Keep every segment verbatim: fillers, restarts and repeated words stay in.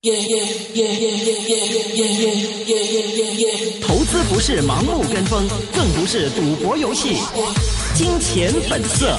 投资不是盲目跟风，更不是赌博游戏。金钱本色。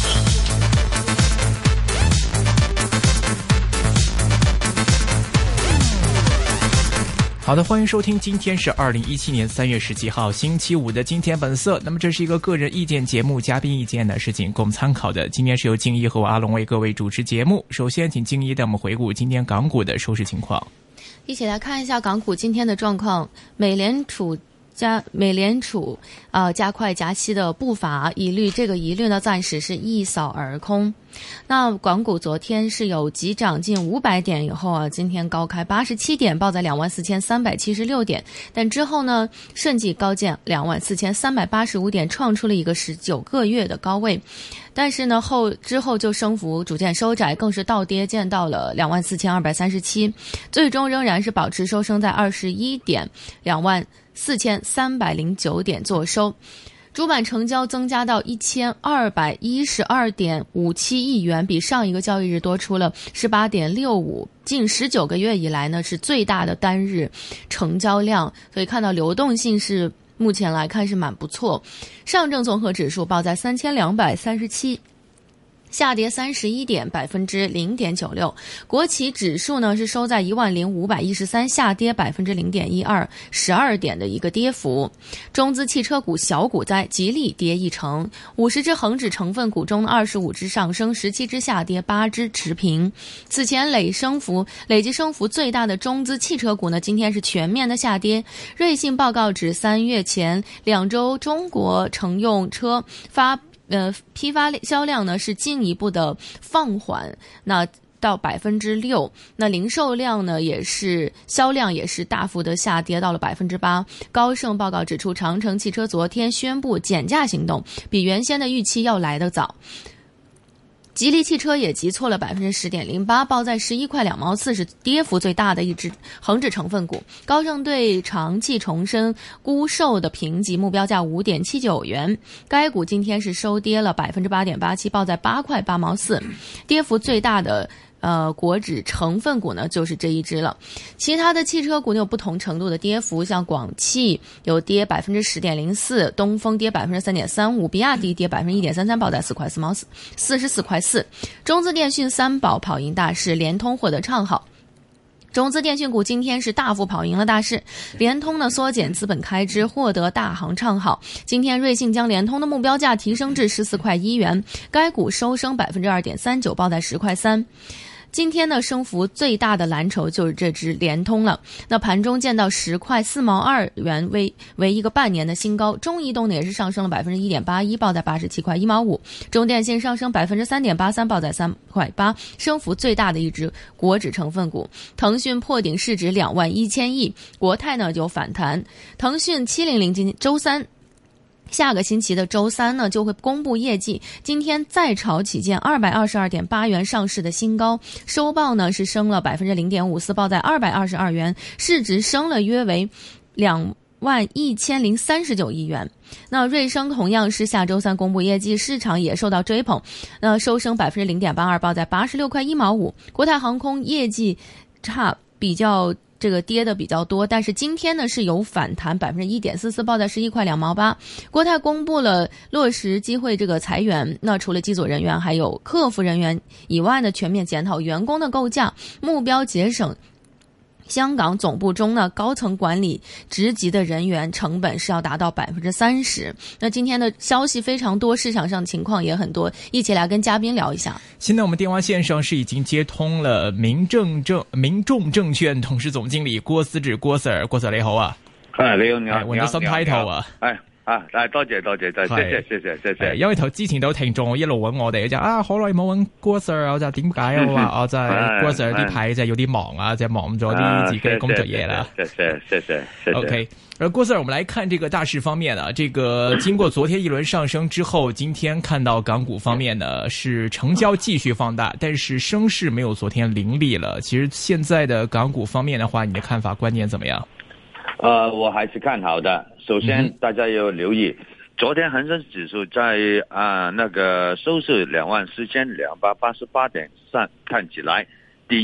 好的，欢迎收听，今天是二零一七年三月十七号星期五的金钱本色。那么这是一个个人意见节目，嘉宾意见呢是仅供参考的。今天是由静一和我阿龙为各位主持节目。首先请静一带我们回顾今天港股的收市情况。 一起来看一下港股今天的状况。美联储加美联储呃加快加息的步伐，疑虑这个疑虑呢暂时是一扫而空。那港股昨天是有急涨近五百点以后啊，今天高开八十七点，报在两万四千三百七十六点，但之后呢瞬即高见两万四千三百八十五点，创出了一个十九个月的高位。但是呢后之后就升幅逐渐收窄，更是倒跌见到了两万四千二百三十七，最终仍然是保持收升在二十一点，两万四千三百零九点做收。主板成交增加到一千二百一十二点五七亿元，比上一个交易日多出了十八点六五，近十九个月以来呢是最大的单日成交量，所以看到流动性是目前来看是蛮不错。上证综合指数报在三千两百三十七。下跌三十一点，百分之零点九六。国企指数呢是收在一万零五百一十三，下跌百分之零点一二，十二点的一个跌幅。中资汽车股小股灾，吉利跌一成。五十只恒指成分股中，二十五只上升，十七只下跌，八只持平。此前累升幅累计升幅最大的中资汽车股呢，今天是全面的下跌。瑞信报告指，三月前两周中国乘用车发。呃，批发销量呢是进一步的放缓，那到百分之六，那零售量呢也是销量也是大幅的下跌到了百分之八。高盛报告指出，长城汽车昨天宣布减价行动，比原先的预期要来得早。吉利汽车也急挫了百分之十点零八，报在十一块两毛四，是跌幅最大的一只恒指成分股。高盛对长汽重申估售的评级目标价五点七九元，该股今天是收跌了百分之八点八七，报在八块八毛四，跌幅最大的。呃，国指成分股呢就是这一只了。其他的汽车股呢有不同程度的跌幅，像广汽有跌百分之十点零四，东风跌百分之三点三五，比亚迪跌百分之一点三三，报在四块四毛四，四十四块四。中资电讯三宝跑赢大市，联通获得唱好。中资电讯股今天是大幅跑赢了大市，联通呢缩减资本开支，获得大行唱好。今天瑞信将联通的目标价提升至十四块一元，该股收升百分之二点三九，报在十块三。今天呢，升幅最大的蓝筹就是这只联通了。那盘中见到十块四毛二元为为一个半年的新高。中移动呢也是上升了百分之一点八一，报在八十七块一毛五。中电信上升百分之三点八三，报在三块八，升幅最大的一只国指成分股。腾讯破顶市值两万一千亿，国泰呢就反弹。腾讯七零零今周三。下个星期的周三呢，就会公布业绩。今天再炒起见二百二十二点八元上市的新高，收报呢是升了百分之零点五四，报在二百二十二元，市值升了约为两万一千零三十九亿元。那瑞声同样是下周三公布业绩，市场也受到追捧，那收升百分之零点八二，报在八十六块一毛五。国泰航空业绩差，比较。这个跌的比较多，但是今天呢是有反弹百分之一点四四，报在十一块两毛八。国泰公布了落实机会这个裁员，那除了机组人员还有客服人员以外呢，全面检讨员工的构架，目标节省香港总部中呢高层管理职级的人员成本是要达到百分之三十。那今天的消息非常多，市场上情况也很多，一起来跟嘉宾聊一下。 现在我们电话线上是已经接通了民政证民众證券董事總經理郭思治郭 Sir， 郭 Sir 你好啊。 係你好，你好， 換咗新 title 啊。 係啊，多謝多謝，多謝，謝謝謝謝謝謝。 因為頭之前都聽眾一路揾我哋就啊，好耐冇揾郭 Sir， 我就點解啊？我話我就係郭 Sir 呢排就有啲忙啊，就忙咗啲自己嘅工作嘢啦。 謝謝謝謝謝謝。 OK。而郭 Sir， 我們來看這個大市方面啊，這個經過昨天一輪上升之後，今天看到港股方面呢是成交繼續放大，但是升勢沒有昨天凌厲了。其實現在的港股方面的話，你的看法觀點怎麼樣？ 呃，我還是看好的。首先，大家要留意，嗯、昨天恒生指數在啊、呃、那個收市兩萬四千兩百八十八點上，看起來第一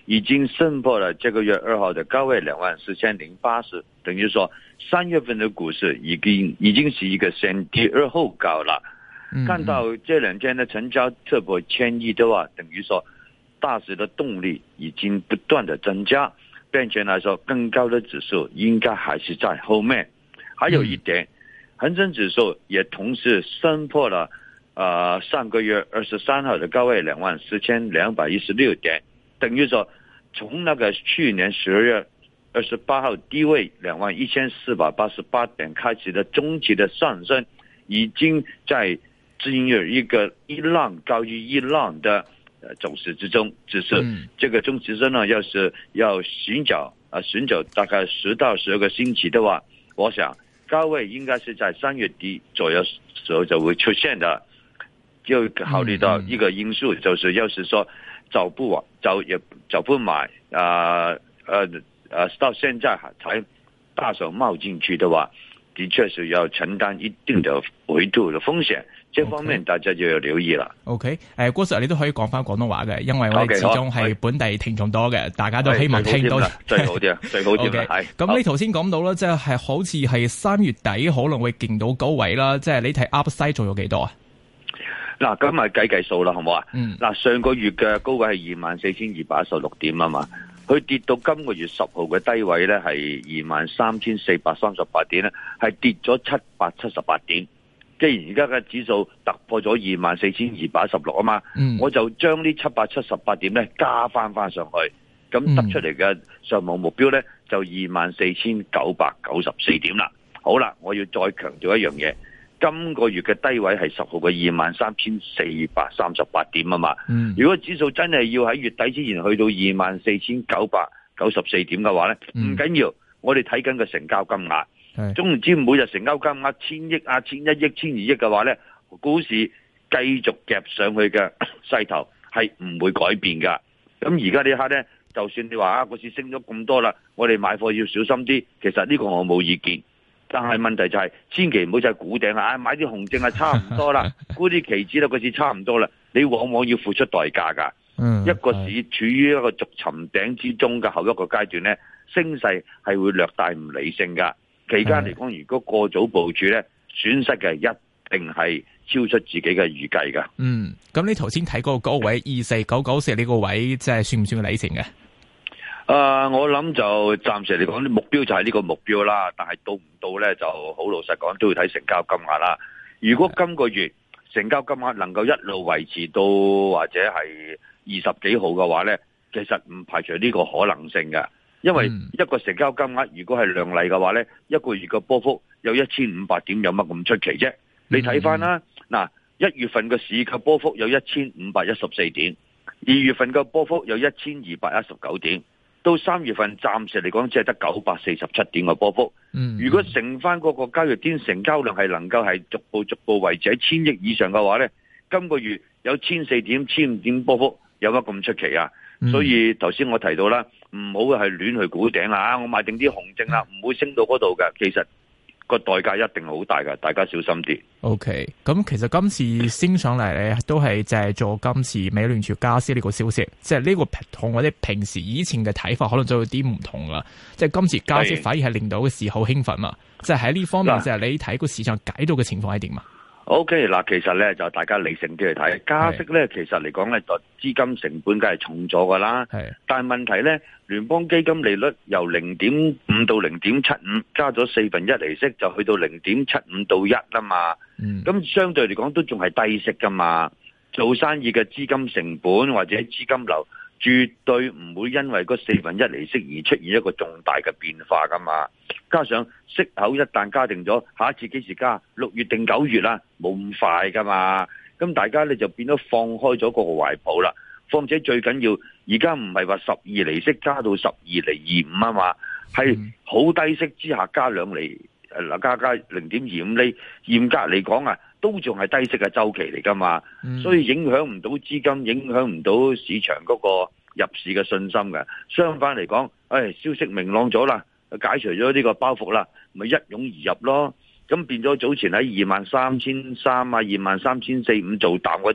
已经升破了这个月二号的高位两万四千零八十，等于说三月份的股市已经已经是一个先跌而后高了。看到这两天的成交突破千亿的话，等于说大市的动力已经不断的增加，并且来说更高的指数应该还是在后面。还有一点，恒生指数也同时升破了呃上个月二十三号的高位两万四千两百一十六点，等于说从那个去年十二月二十八号低位两万一千四百八十八点开始的中期的上升，已经在进入一个一浪高于一浪的呃走势之中。只是这个中期升呢，要是要寻找啊寻找大概十到十二个星期的话，我想高位应该是在三月底左右时候就会出现的。就考虑到一个因素，就是要是说早不早也早不买啊呃呃到现在才大手冒进去的话，的确是要承担一定的回吐的風險，這方面大家就要留意啦。 OK， 誒，郭 Sir 你都可以講翻廣東話嘅，因為我哋始終係本地聽眾多嘅，大家都希望聽到最好啲，最好啲係。 咁你頭先講到啦，即係好似係三月底可能會見到高位啦，即係你睇 Upside 仲有幾多啊？ 嗱，咁咪計計數啦，好唔好啊？ 嗯。 嗱，上個月嘅高位係二萬四千二百一十六點啊嘛。佢跌到今個月十號嘅低位咧係二萬三千四百三十八點咧，係跌咗七百七十八點。既然而家嘅指數突破咗二萬四千二百一十六啊嘛，嗯、我就將呢七百七十八點咧加翻翻上去，咁得出嚟嘅上網目標咧就二萬四千九百九十四點啦。好啦，我要再強調一樣嘢。今個月嘅低位係十號嘅二萬三千四百三十八點啊嘛，嗯、如果指數真係要喺月底之前去到二萬四千九百九十四點嘅話咧，唔緊要，我哋睇緊個成交金額，總唔知每日成交金額千億啊、千一億、千二億嘅話咧，股市繼續夾上去嘅勢頭係唔會改變噶。咁而家呢一刻咧，就算你話啊，個市升咗咁多啦，我哋買貨要小心啲，其實呢個我冇意見。但係問題就係、是，千祈唔好就係估頂啦，買啲紅證啊差唔多啦，估啲期指啦個市差唔多啦，你往往要付出代價㗎。嗯，一個市處於一個逐尋頂之中嘅後一個階段咧，升勢係會略帶唔理性㗎。期間嚟講，如果過早部署咧，損失嘅一定係超出自己嘅預計㗎。 嗯，咁你頭先睇嗰個高位二四九九四呢個位，即係算唔算理性嘅？ 誒、呃，我諗就暫時嚟講，啲目標就係呢個目標啦。但係到唔到咧，就好老實講，都要睇成交金額啦。如果今個月成交金額能夠一路維持到或者係二十幾號嘅話咧，其實唔排除呢個可能性嘅。因為一個成交金額如果係量麗嘅話咧，一個月嘅波幅有一千五百點，有乜咁出奇啫？你睇翻啦，嗱，一月份嘅市嘅波幅有一千五百一十四點，二月份嘅波幅有一千二百一十九點。到三月份暫時嚟講只係得九百四十七點嘅波幅。嗯，如果乘翻嗰個交易天成交量係能夠係逐步逐步維持喺千億以上嘅話咧，今個月有千四點、千五點波幅，有乜咁出奇啊？嗯、所以頭先我提到啦，唔好係亂去估頂啊！我買定啲紅證啦，唔會升到嗰度嘅。其實個代價一定好大㗎，大家小心啲。 OK，咁其實今次升上嚟咧，都係借助今次美聯儲加息呢個消息，即係呢個同我哋平時以前嘅睇法可能就有啲唔同啦。即係今次加息反而係令到個市好興奮嘛。即係喺呢方面，即係你睇個市場解到嘅情況係點嘛？ OK， 嗱，其實咧就大家理性啲去睇，加息咧其實嚟講咧，就資金成本梗係重咗噶啦。係，但係問題咧，聯邦基金利率由零點五到零點七五，加咗四分一利息，就去到零點七五到一啦嘛。嗯，咁相對嚟講都仲係低息噶嘛。做生意嘅資金成本或者資金流，絕對唔會因為嗰四分一利息而出現一個重大嘅變化噶嘛。加上息口一旦加定咗，下一次幾時加？六月定九月啦，冇咁快噶嘛。咁大家咧就變咗放開咗個懷抱啦。況且最緊要，而家唔係話十二厘息加到十二厘二五啊嘛，係好低息之下加兩厘，嗱加加零點二五厘，嚴格嚟講啊，都仲係低息嘅周期嚟噶嘛。嗯、所以影響唔到資金，影響唔到市場嗰個入市嘅信心嘅。相反嚟講，誒消息明朗咗啦。解除咗呢個包袱啦，咪一湧而入咯。咁變咗早前喺二萬三千三啊、二萬三千四五做淡嗰啲咧，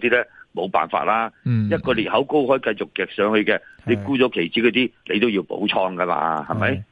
冇辦法啦。 嗯、 一個裂口高開繼續夾上去嘅，你沽咗期指嗰啲，你都要補倉噶嘛，係咪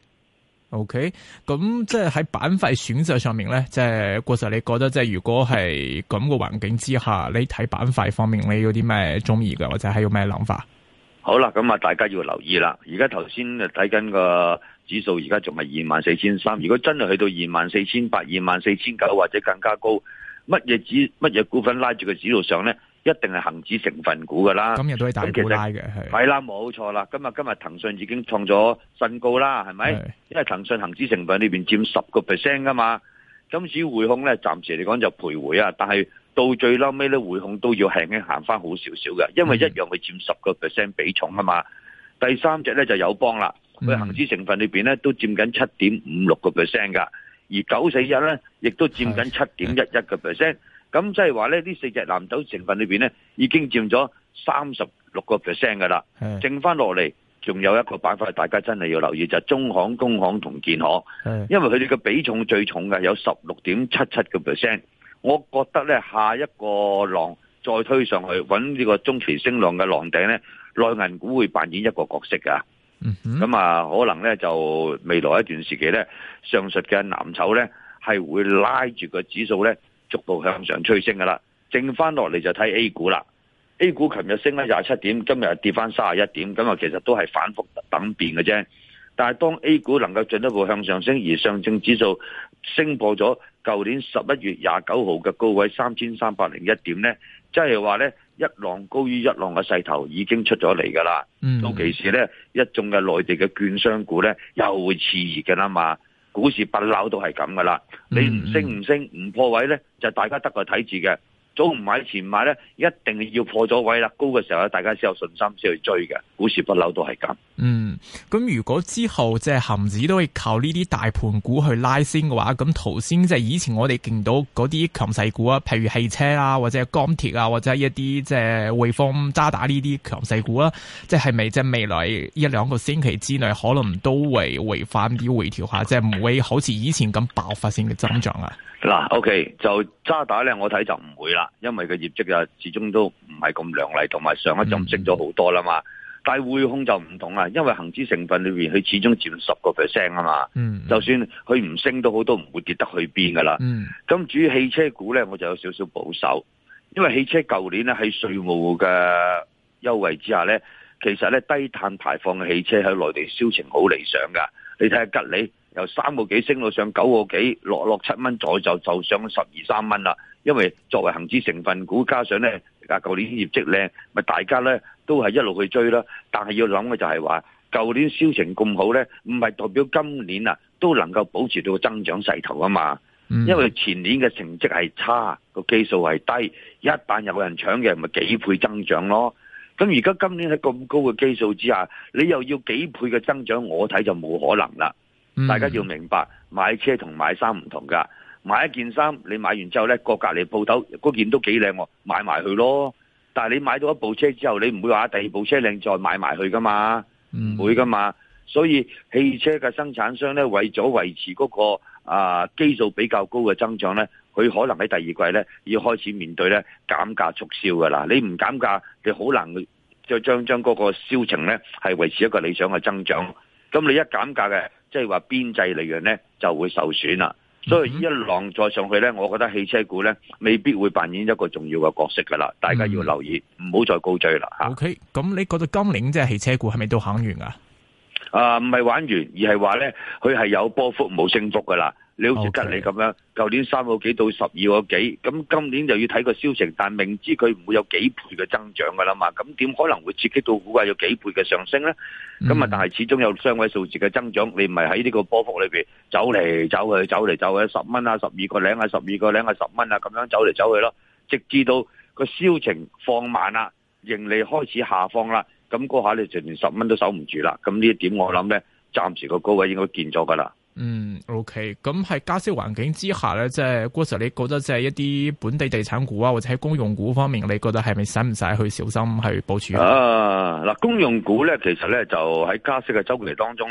？OK，咁即係喺板塊選擇上面咧，即係郭 Sir，你覺得即係如果係咁個環境之下，你睇板塊方面你有啲咩中意嘅，或者係有咩諗法？ 好啦，咁啊，大家要留意啦。而家頭先睇緊個指數，而家仲係二萬四千三。如果真係去到二萬四千八、二萬四千九或者更加高，乜嘢指乜嘢股份拉住個指數上咧？一定係恒指成分股噶啦， 今日都係大股拉嘅，係係啦，冇錯啦。今日今日騰訊已經創咗新高啦，係咪？因為騰訊恒指成分裏邊佔十個 percent 噶嘛。今次匯控咧，暫時嚟講就徘徊啊，但係到最嬲尾咧，匯控都要輕輕行翻好少少嘅，因為一樣係佔十個 percent 比重啊嘛。第三隻咧就友邦啦，佢恒指成分裏邊咧都佔緊七點五六個 percent 噶，而九四一咧亦都佔緊七點一一個 percent。咁即係話咧，呢四隻藍籌成分裏邊咧，已經佔咗三十六個 percent 噶啦，剩翻落嚟仲有一個板塊，大家真係要留意就係、是、中行、工行同建行，因為佢哋嘅比重最重嘅有十六點七七個 percent。我覺得咧，下一個浪再推上去，揾呢個中期升浪嘅浪頂咧，內銀股會扮演一個角色噶。咁、嗯、啊，可能咧就未來一段時期咧，上述嘅藍籌咧係會拉住個指數咧，逐步向上推升噶啦，剩翻落嚟就睇 A 股啦。A 股琴日升咗廿七點，今日跌翻三十一點，咁啊其實都係反覆等變嘅啫。但係當 A 股能夠進一步向上升，而上證指數升破咗舊年十一月廿九號嘅高位三千三百零一點呢，即係話呢，一浪高於一浪嘅勢頭已經出咗嚟噶啦。嗯、到其時呢，一眾嘅內地嘅券商股呢，又會熾熱嘅啦嘛。股市不嬲都係咁噶啦，你唔升唔升唔破位咧，就大家得個睇字嘅。早唔買前買咧，一定要破咗位啦，高嘅時候咧，大家先有信心先去追嘅。股市不嬲都係咁。嗯， 咁如果之後即係恒指都會靠呢啲大盤股去拉升嘅話，咁頭先即係以前我哋見到嗰啲強勢股啊，譬如汽車啊，或者係鋼鐵啊，或者一啲即係匯豐、渣打呢啲強勢股啊，即係咪即係未來一兩個星期之內可能都會回翻啲回調下，即係唔會好似以前咁爆發性嘅增長啊？ 嗱 ，OK， 就渣打咧，我睇就唔會啦，因為個業績啊，始終都唔係咁亮麗，同埋上一陣升咗好多啦嘛。嗯、但係匯控就唔同啦，因為恒指成分裏邊佢始終佔十個 percent 啊嘛。嗯，就算佢唔升都好，都唔會跌得去邊噶啦。嗯，咁至於汽車股咧，我就有少少保守，因為汽車舊年咧喺稅務嘅優惠之下咧，其實咧低碳排放嘅汽車喺內地銷情好理想噶。你睇下吉利。由三個幾升到上九個幾，落落七蚊左右就就上十二三蚊啦。因為作為恒指成分股，加上咧啊舊年業績靚，咪大家咧都係一路去追啦。但係要諗嘅就係話，舊年銷情咁好咧，唔係代表今年啊都能夠保持到個增長勢頭啊嘛。嗯、因為前年嘅成績係差，個基數係低，一旦有人搶嘅，咪幾倍增長咯。咁而家今年喺咁高嘅基數之下，你又要幾倍嘅增長，我睇就冇可能啦。大家要明白，買車同買衫唔同噶。買一件衫，你買完之後咧，過隔籬鋪頭嗰件都幾靚，買埋去咯。但係你買到一部車之後，你唔會話第二部車靚再買埋去噶嘛？唔會噶嘛。所以汽車嘅生產商咧，為咗維持嗰個啊基數比較高嘅增長咧，佢可能喺第二季咧要開始面對咧減價促銷噶啦。你唔減價，你好難就將將嗰個銷情咧係維持一個理想嘅增長。咁你一減價嘅，即係話邊際利潤咧就會受損啦。所以一浪再上去咧，我覺得汽車股咧未必會扮演一個重要嘅角色噶啦。大家要留意，唔好、嗯、再高追啦吓。OK，咁你覺得今年即係汽車股係咪都行完啊？啊，唔係玩完，而係話咧，佢係有波幅冇升幅噶啦。你好似吉利咁樣，舊 Okay. 年三個幾到十二個幾，咁今年就要睇個銷情，但明知佢唔會有幾倍嘅增長噶啦嘛，咁點可能會刺激到股價有幾倍嘅上升咧？咁啊、嗯，但係始終有雙位數字嘅增長，你唔係喺呢個波幅裏邊走嚟走去，走嚟走去，十蚊啊，十二個零啊，十二個零啊，十蚊啊，咁樣走嚟走去咯，直至到個銷情放慢啦，盈利開始下放啦，咁嗰下你就連十蚊都守唔住啦。咁呢一點我諗咧，暫時個高位應該見咗噶啦。嗯 ，OK， 咁喺加息環境之下咧，即係郭 Sir，你覺得即係一啲本地地產股啊，或者喺公用股方面，你覺得係咪使唔使去小心去部署啊？嗱，公用股咧，其實咧就喺加息嘅周期當中咧，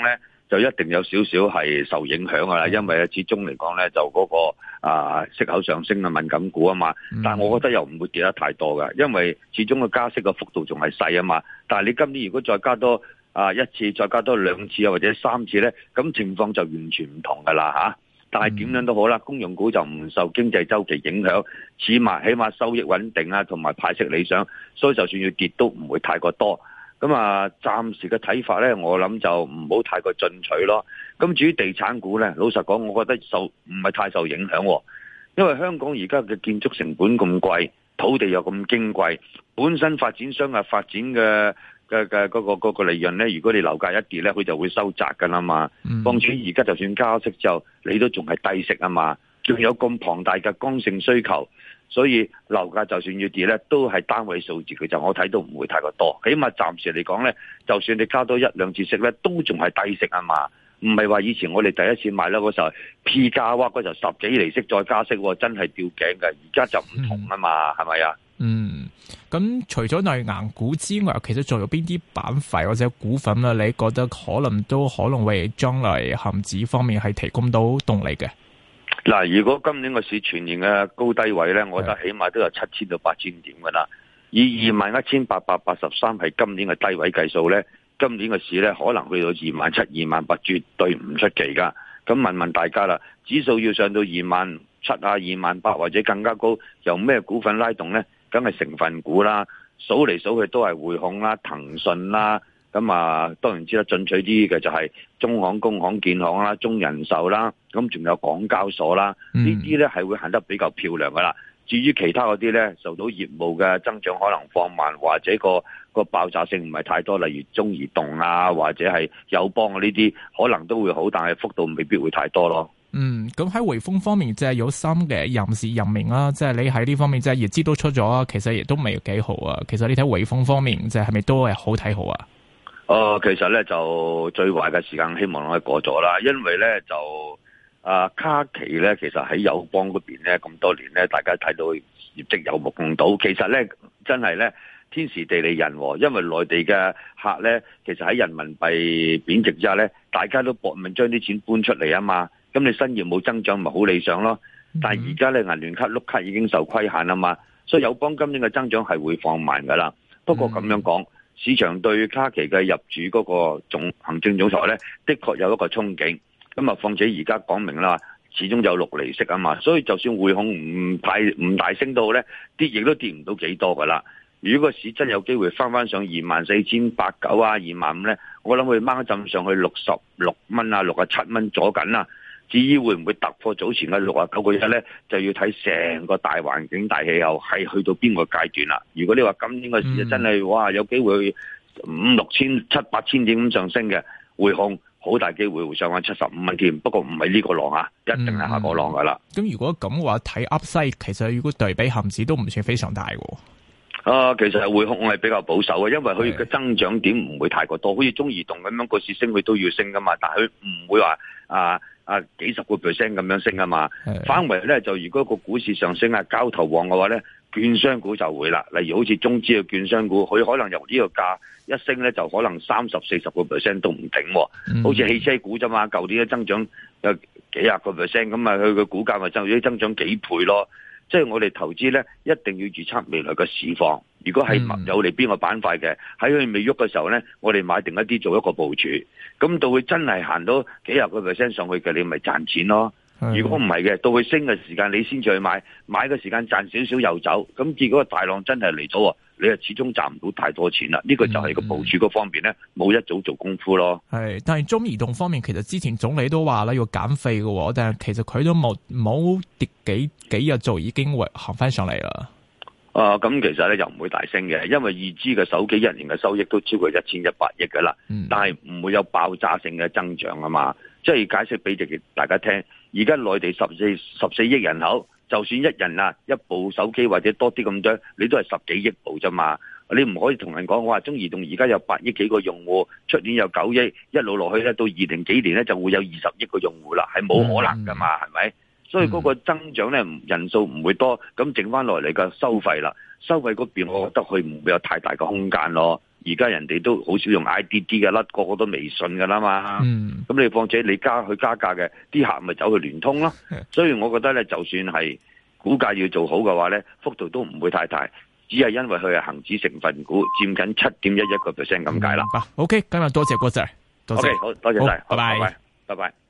就一定有少少係受影響噶啦，因為始終嚟講咧就嗰、那個啊息口上升嘅敏感股啊嘛，但係我覺得又唔會跌得太多噶，因為始終個加息嘅幅度仲係細啊嘛。但係你今年如果再加多啊一次，再加多兩次啊或者三次咧，咁情況就完全唔同噶啦吓。但係點樣都好啦，公用股就唔受經濟周期影響，起碼起碼收益穩定啊，同埋派息理想，所以就算要跌都唔會太過多。咁啊，暫時嘅睇法咧，我諗就唔好太過進取咯。咁至於地產股咧，老實講，我覺得受唔係太受影響，因為香港而家嘅建築成本咁貴，土地又咁矜貴，本身發展商啊發展嘅嘅嘅嗰個嗰個利潤咧，如果你樓價一跌咧，佢就會收窄噶啦嘛。況且而家就算加息之後，你都仲係低息啊嘛，仲有咁龐大嘅剛性需求。所以樓價就算要跌咧，都係單位數字嘅，就我睇都唔會太過多。起碼暫時嚟講咧，就算你加多一兩次息咧，都仲係低息啊嘛。唔係話以前我哋第一次買樓嗰時候 P 價哇，嗰時候十幾厘息再加息，真係吊頸嘅。而家就唔同啊嘛，係咪啊？ 嗯，咁除咗內銀股之外，其實仲有邊啲板塊或者股份啊？你覺得可能都可能為將來恒指方面係提供到動力嘅？ 嗱，如果今年個市全年嘅高低位咧，我覺得起碼都有七千到八千點噶啦。以二萬一千八百八十三係今年嘅低位計數咧，今年嘅市咧可能去到二萬七、二萬八，絕對唔出奇噶。咁問問大家啦，指數要上到二萬七啊、二萬八或者更加高，由咩股份拉動咧？梗係成分股啦，數嚟數去都係匯控啦、騰訊啦。咁啊，當然知得進取啲嘅就係中行、工行、建行啦、中人壽啦，咁仲有港交所啦，呢啲咧係會行得比較漂亮噶啦。至於其他嗰啲咧，受到業務嘅增長可能放慢，或者個個爆炸性唔係太多，例如中移動啊，或者係友邦啊呢啲，可能都會好，但係幅度未必會太多咯。 嗯，咁喺匯豐方面，即係有新嘅人事任命啦，即係你喺呢方面即係業績都出咗啊，其實亦都未幾好啊。其實你睇匯豐方面，即係係咪都係好睇好啊？ 誒、呃，其實咧就最壞嘅時間希望可以過咗啦，因為咧就啊卡奇咧，其實喺友邦嗰邊咧咁多年咧，大家睇到業績有目共睹。其實咧真係咧天時地利人和，因為內地嘅客咧，其實喺人民幣貶值之下咧，大家都搏命將啲錢搬出嚟啊嘛。咁你新業務增長咪好理想咯。但係而家咧銀聯卡碌卡已經受規限啊嘛，所以友邦今年嘅增長係會放慢噶啦。不過咁樣講，市場對卡奇嘅入主嗰個總行政總裁咧，的確有一個憧憬。咁啊，況且而家講明啦，始終有六厘息啊嘛，所以就算匯控唔太唔大升到咧，跌亦都跌唔到幾多噶啦。如果個市真有機會翻翻上二萬四千八九啊、二萬五咧，我諗佢掹一陣上去六十六蚊啊、六十七蚊左緊啦。至於會唔會突破早前嘅六啊九個一咧，就要睇成個大環境、大氣候係去到邊個階段啦。如果你話今年個市真係哇有機會五六千、七八千點咁上升嘅，匯控好大機會會上翻七十五蚊添。不過唔係呢個浪啊，一定係下個浪噶啦。 咁、嗯、如果咁嘅話，睇 Upside 其實如果對比恒指都唔算非常大喎。 啊，其實匯控係比較保守嘅，因為佢嘅增長點唔會太過多，好似中移動咁樣個市升佢都要升噶嘛，但係佢唔會話啊啊幾十個 percent 咁樣升啊嘛。反為咧就如果個股市上升啊，交投旺嘅話咧，券商股就會啦。例如好似中資嘅券商股，佢可能由呢個價一升咧，就可能三十四十個 percent 都唔頂。嗯、好似汽車股啫嘛，舊年嘅增長有幾廿個 percent，咁啊佢嘅股價咪增咗增長幾倍咯。即係我哋投資咧，一定要預測未來嘅市況。如果係有利邊個板塊嘅，喺佢未喐嘅時候咧，我哋買定一啲做一個部署。咁到佢真係行到幾廿個 percent 上去嘅，你咪賺錢咯。如果唔係嘅，到佢升嘅時間，你先至去買，買嘅時間賺少少又走。咁結果個大浪真係嚟咗，你係始終賺唔到太多錢啦。呢、這個就係個部署嗰方面咧，冇一早做功夫咯。 係，但係中移動方面，其實之前總理都話啦要減費嘅，但係其實佢都冇冇跌幾幾日就已經會行翻上嚟啦。 啊、呃，咁其實咧又唔會大升嘅，因為二 G 嘅手機一年嘅收益都超過一千一百億噶啦，嗯、但係唔會有爆炸性嘅增長啊嘛。即係解釋俾大家聽，而家內地十四十四億人口，就算一人啊一部手機或者多啲咁多，你都係十幾億部啫嘛。你唔可以同人講話中移動而家有八億幾個用戶，出年有九億，一路落去咧到二零幾年咧就會有二十億個用戶啦，係冇可能噶嘛，係咪、嗯？所以嗰個增長咧人數唔會多，咁剩翻落嚟嘅收費啦，收費嗰邊我覺得佢唔會有太大嘅空間咯。而而家人哋都好少用 I D D 嘅啦，個個都微信噶啦嘛。 嗯， 咁你況且你加去加價嘅，啲客咪走去聯通咯。所以我覺得咧，就算係股價要做好嘅話咧，幅度都唔會太大，只係因為佢係恒指成分股佔緊七點一一個 percent 咁解啦。 好 ，OK，今日多謝郭 Sir，多謝， OK， 好多謝晒， 拜拜， 拜拜，拜拜。